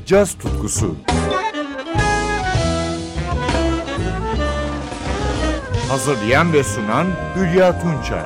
caz tutkusu. Hazırlayan ve sunan Hülya Tunçay.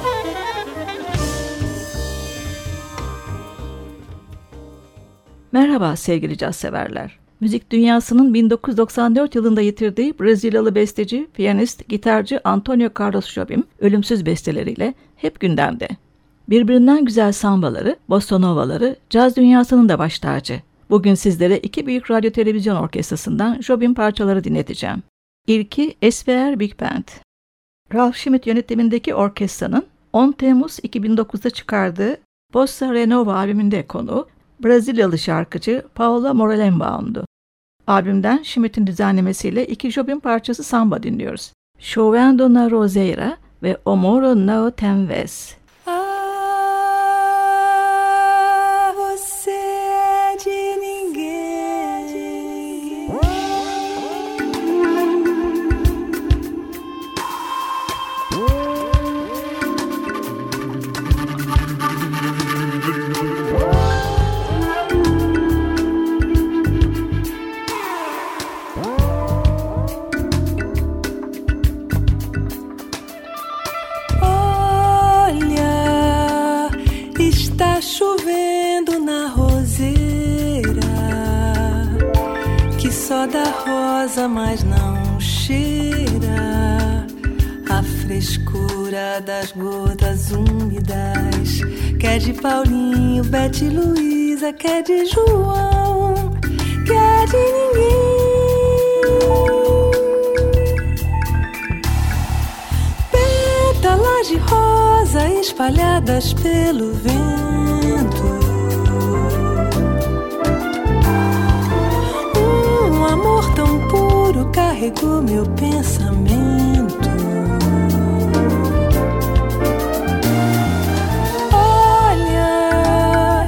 Merhaba sevgili caz severler. Müzik dünyasının 1994 yılında yitirdiği Brezilyalı besteci, piyanist, gitarcı Antonio Carlos Jobim ölümsüz besteleriyle hep gündemde. Birbirinden güzel sambaları, bossa novaları, caz dünyasının da baş tacı. Bugün sizlere iki büyük radyo televizyon orkestrasından Jobim parçaları dinleteceğim. İlki SVR Big Band. Ralph Schmitt yönetimindeki orkestranın 10 Temmuz 2009'da çıkardığı Bossa Renova albümünde konuğu Brezilyalı şarkıcı Paula Morelenbaum'du. Albümden Schmitt'in düzenlemesiyle iki Jobim parçası samba dinliyoruz. Chovendo na Roseira ve O Moro Não Tem Vez. Chovendo na roseira, que só dá rosa, mas não cheira a frescura das gotas úmidas, que é de Paulinho, Bete e Luísa, que é de João, que é de ninguém. Pétalas de rosa espalhadas pelo vento, amor tão puro carregou meu pensamento. Olha,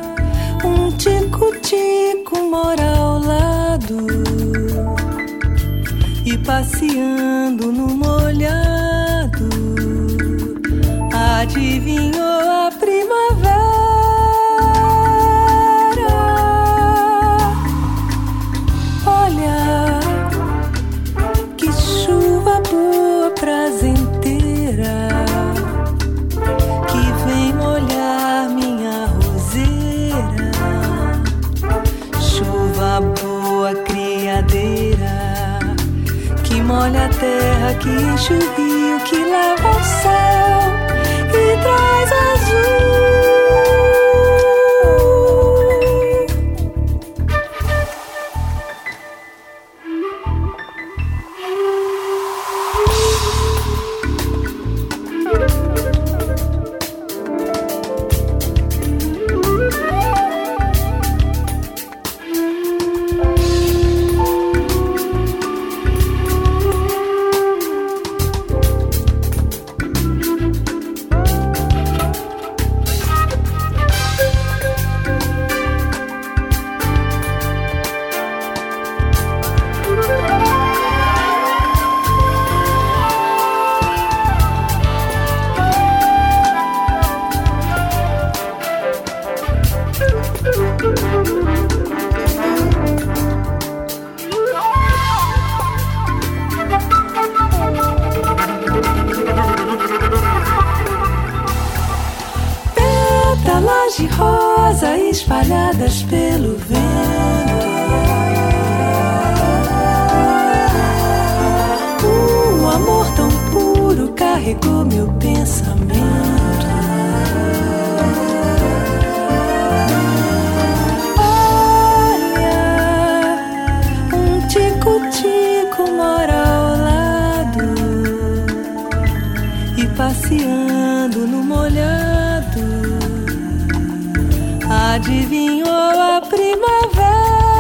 tico-tico mora ao lado e passeando no molhado adivinhou a primavera. Prazenteira que vem molhar minha roseira, chuva boa criadeira que molha a terra, que enche o rio, que lava o céu e traz azul. Pétalas de rosa espalhadas pelo vento, amor tão puro carregou meu pensamento. Olha, tico-tico mora ao lado e passeando no molhado adivinhou a primavera.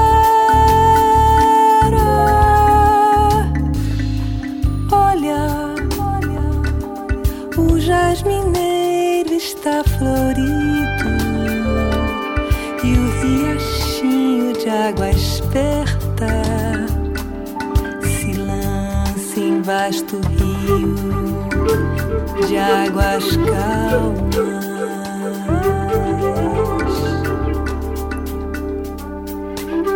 Olha, o jasmineiro está florido e o riachinho de água esperta se lança em vasto rio de águas calmas.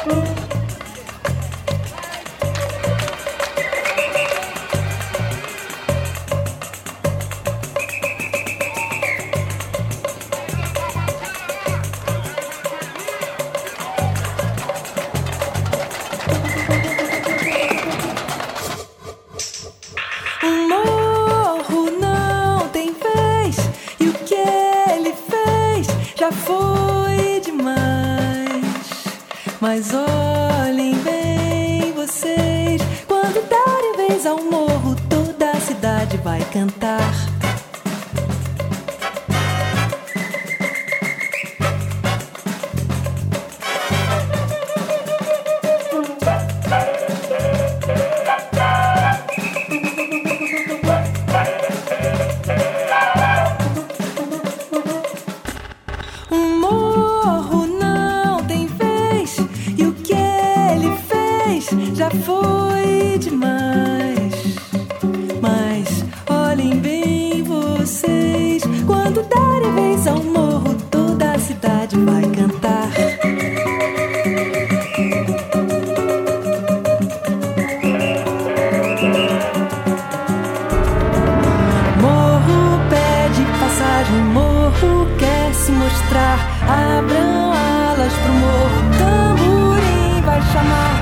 Mas olhem bem vocês, quando darem vez ao morro, toda a cidade vai cantar. Já foi demais, mas olhem bem vocês, quando darem vez ao morro, toda a cidade vai cantar. Morro pede passagem, morro quer se mostrar, abram alas pro morro, tamborim vai chamar.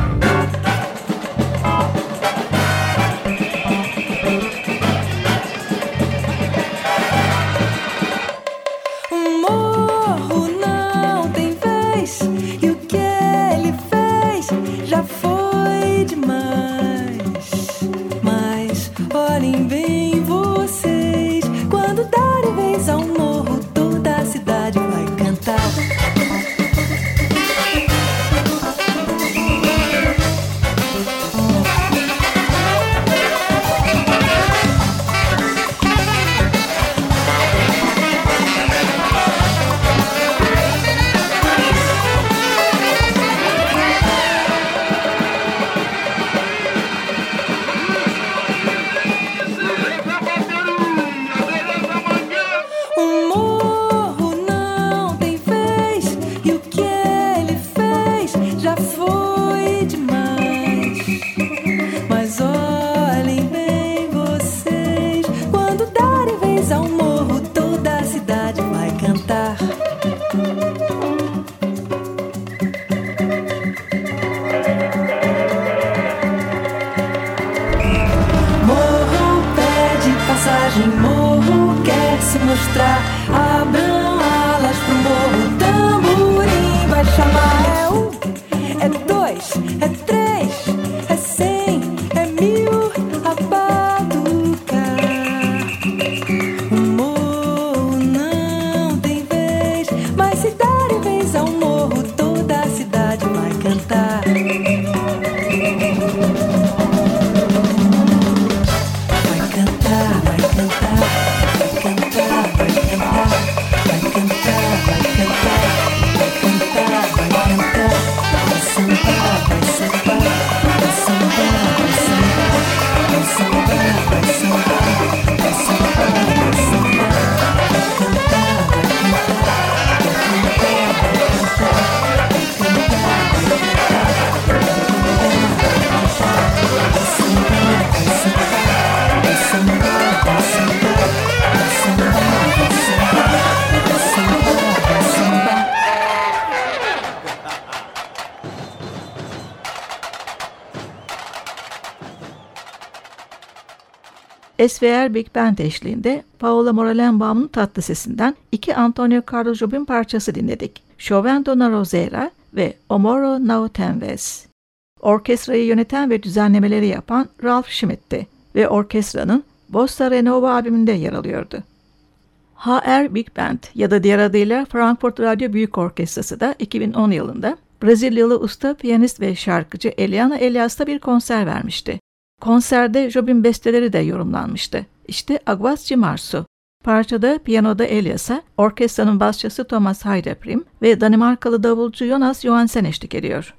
Olhem bem vocês, quando darem vez ao morro, toda a cidade vai cantar. Morro quer se mostrar, abram alas pro morro, tamborim vai chamar. É um, é dois, é três, é 100, é 1000, a batucar. O morro não tem vez, mas se darem vez ao morro, toda a cidade vai cantar. SVR Big Band eşliğinde Paola Morelenbaum'un tatlı sesinden iki Antonio Carlos Jobim parçası dinledik. Chovendo na Roseira ve Omoro na Tenves. Orkestrayı yöneten ve düzenlemeleri yapan Ralph Schmidt'ti ve orkestranın Bossa Renova albümünde yer alıyordu. HR Big Band ya da diğer adıyla Frankfurt Radyo Büyük Orkestrası da 2010 yılında Brezilyalı usta piyanist ve şarkıcı Eliana Elias'ta bir konser vermişti. Konserde Jobim besteleri de yorumlanmıştı. İşte Aguas de Março. Parçada piyanoda Elias'a, orkestranın basçısı Thomas Heideprim ve Danimarkalı davulcu Jonas Johansen eşlik ediyor.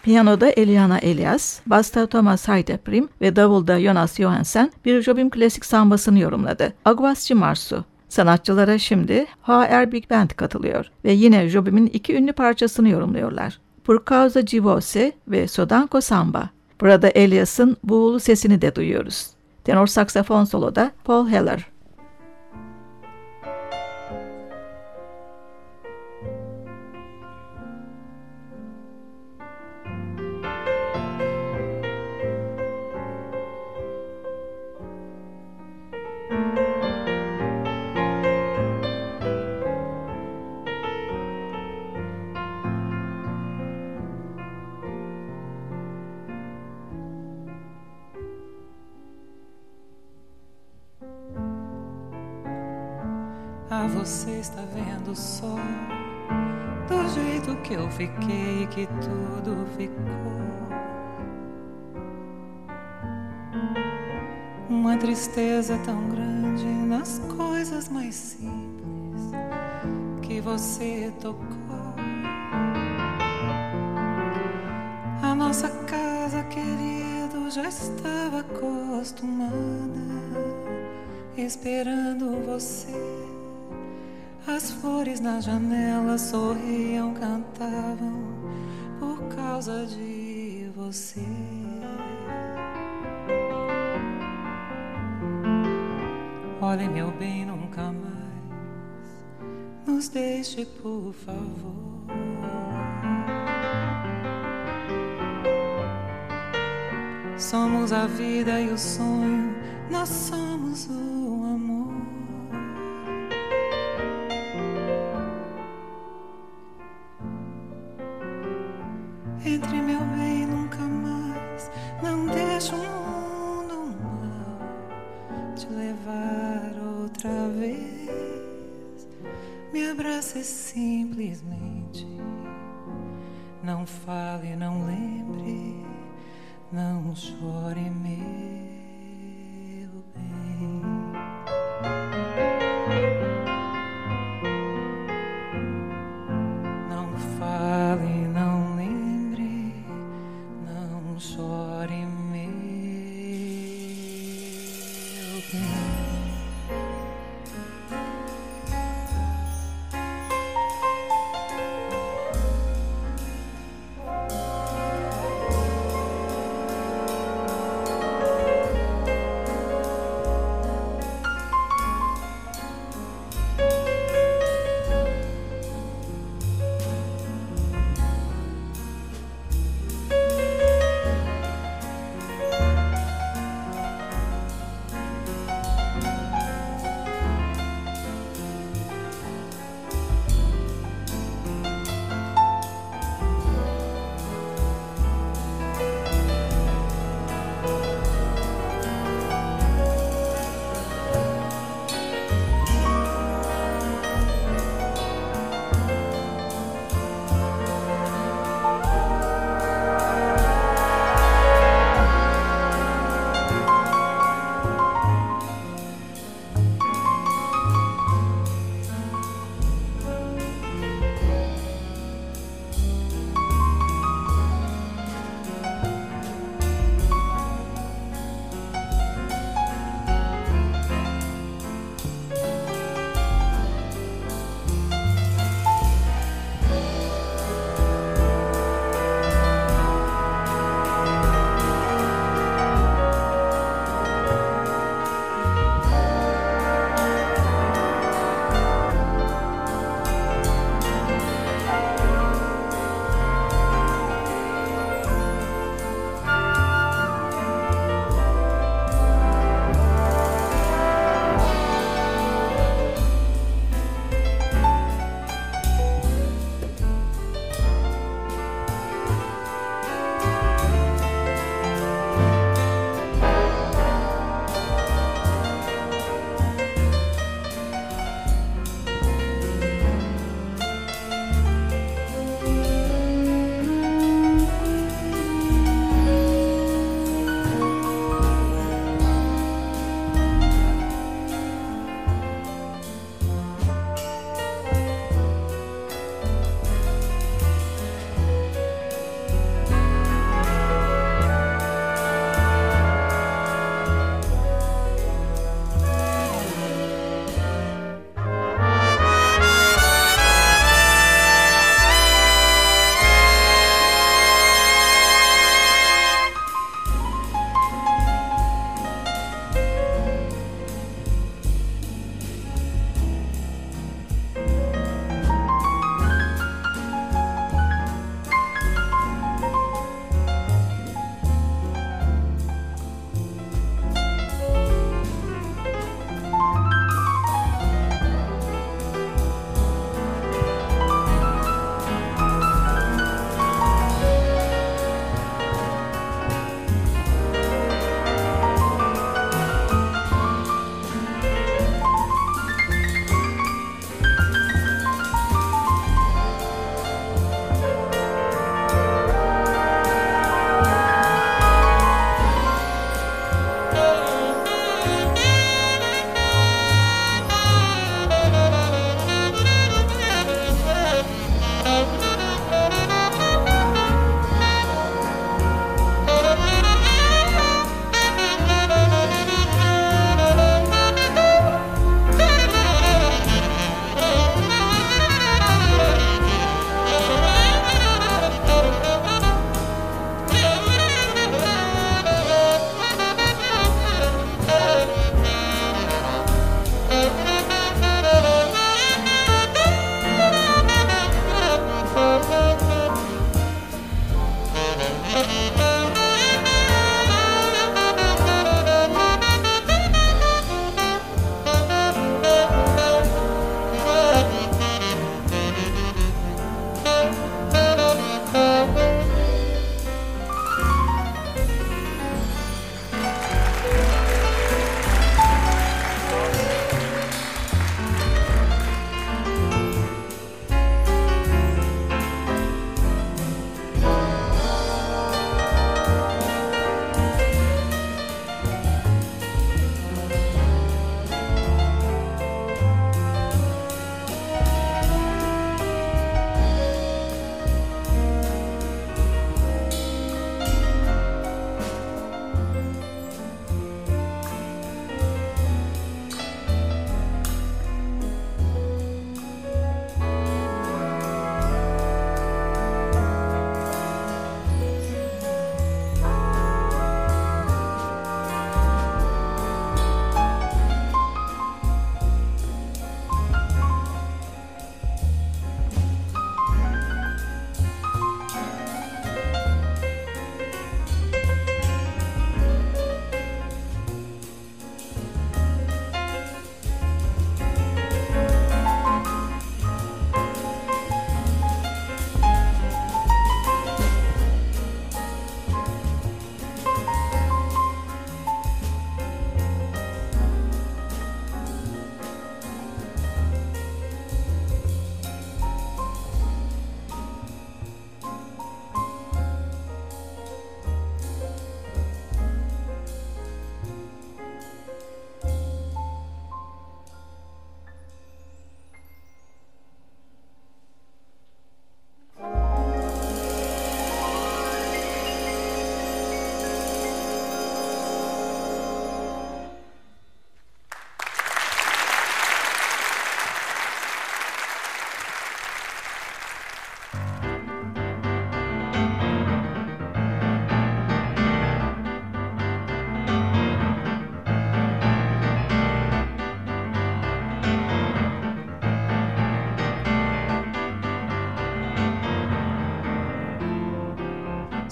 Piyanoda Eliana Elias, basta Thomas Heideprim ve davulda Jonas Johansen bir Jobim klasik sambasını yorumladı. Aguas de Março. Sanatçılara şimdi HR Big Band katılıyor ve yine Jobim'in iki ünlü parçasını yorumluyorlar. Por causa de você ve Sodanko Samba. Burada Elias'ın buğulu sesini de duyuyoruz. Tenor saksafon soloda Paul Heller. Ah, você está vendo só do jeito que eu fiquei e que tudo ficou. Uma tristeza tão grande nas coisas mais simples que você tocou. A nossa casa, querido, já estava acostumada, esperando você. As flores na janela sorriam, cantavam por causa de você. Olhe, meu bem, nunca mais nos deixe, por favor. Somos a vida e o sonho, nós somos o amor. Entre, meu bem, nunca mais, não deixe o mundo mal te levar outra vez. Me abrace simplesmente, não fale, não lembre, não chore, meu bem. Não fale, não lembre, não chore, meu bem.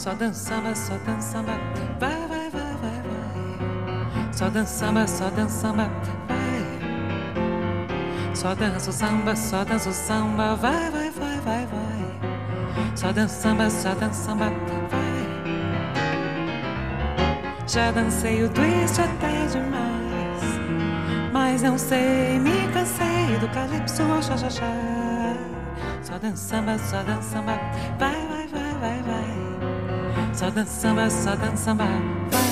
Só dança samba, só dança samba, vai, vai, vai, vai, vai. Só dança samba, só dança samba, vai. Só dança o samba, só dança o samba, vai, vai, vai, vai, vai. Só dança samba, só dança samba, vai. Já dancei o twist até demais, mas não sei, me cansei do calypso ao xa-xa-xa. Só dança samba, vai, vai, vai, vai, vai. Só dança samba, vai.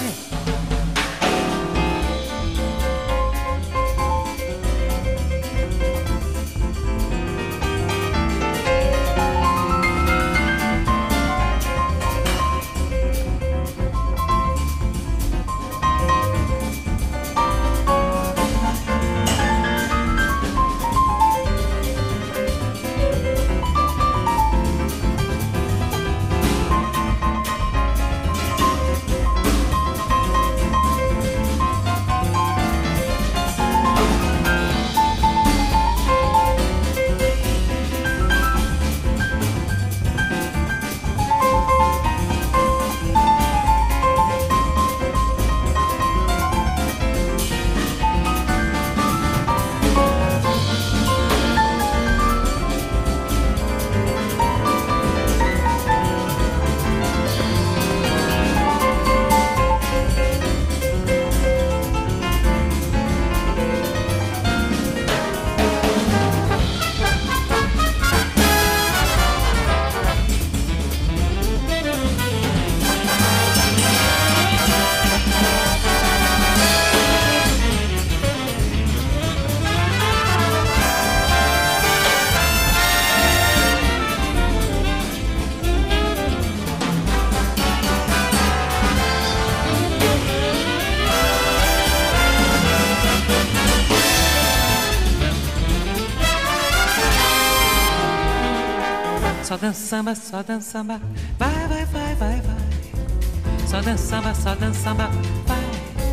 Só dança samba, vai, vai, vai, vai, vai. Só dança samba, vai.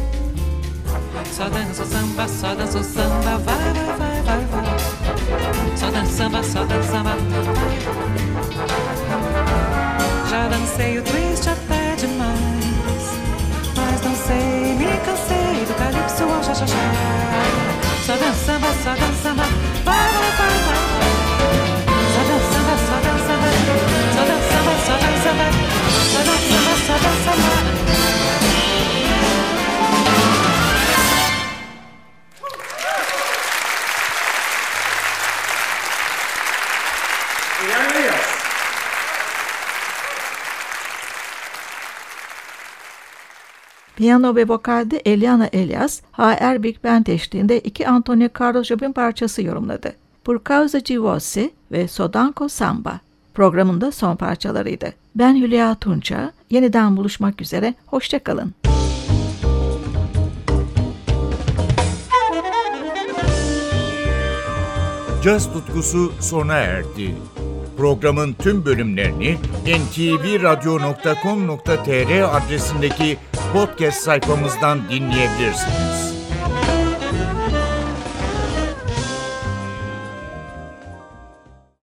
Só dança o samba, vai, vai, vai, vai, vai. Só dança samba, vai. Já dancei o twist até demais, mas não sei, me cansei do calypso ao xa-xa-xa. Só dança samba, vai, vai, vai, vai. Só dança samba, só dança samba, só dança samba, só dança samba, só dança samba, só dança samba. Piyano ve vokalde Eliana Elias, HR Big Band eşliğinde iki Antonio Carlos Jobim parçası yorumladı. Por Causa de Você ve Sodanko Samba programında son parçalarıydı. Ben Hülya Tunça, yeniden buluşmak üzere, hoşça kalın. Caz tutkusu sona erdi. Programın tüm bölümlerini ntvradio.com.tr adresindeki podcast sayfamızdan dinleyebilirsiniz.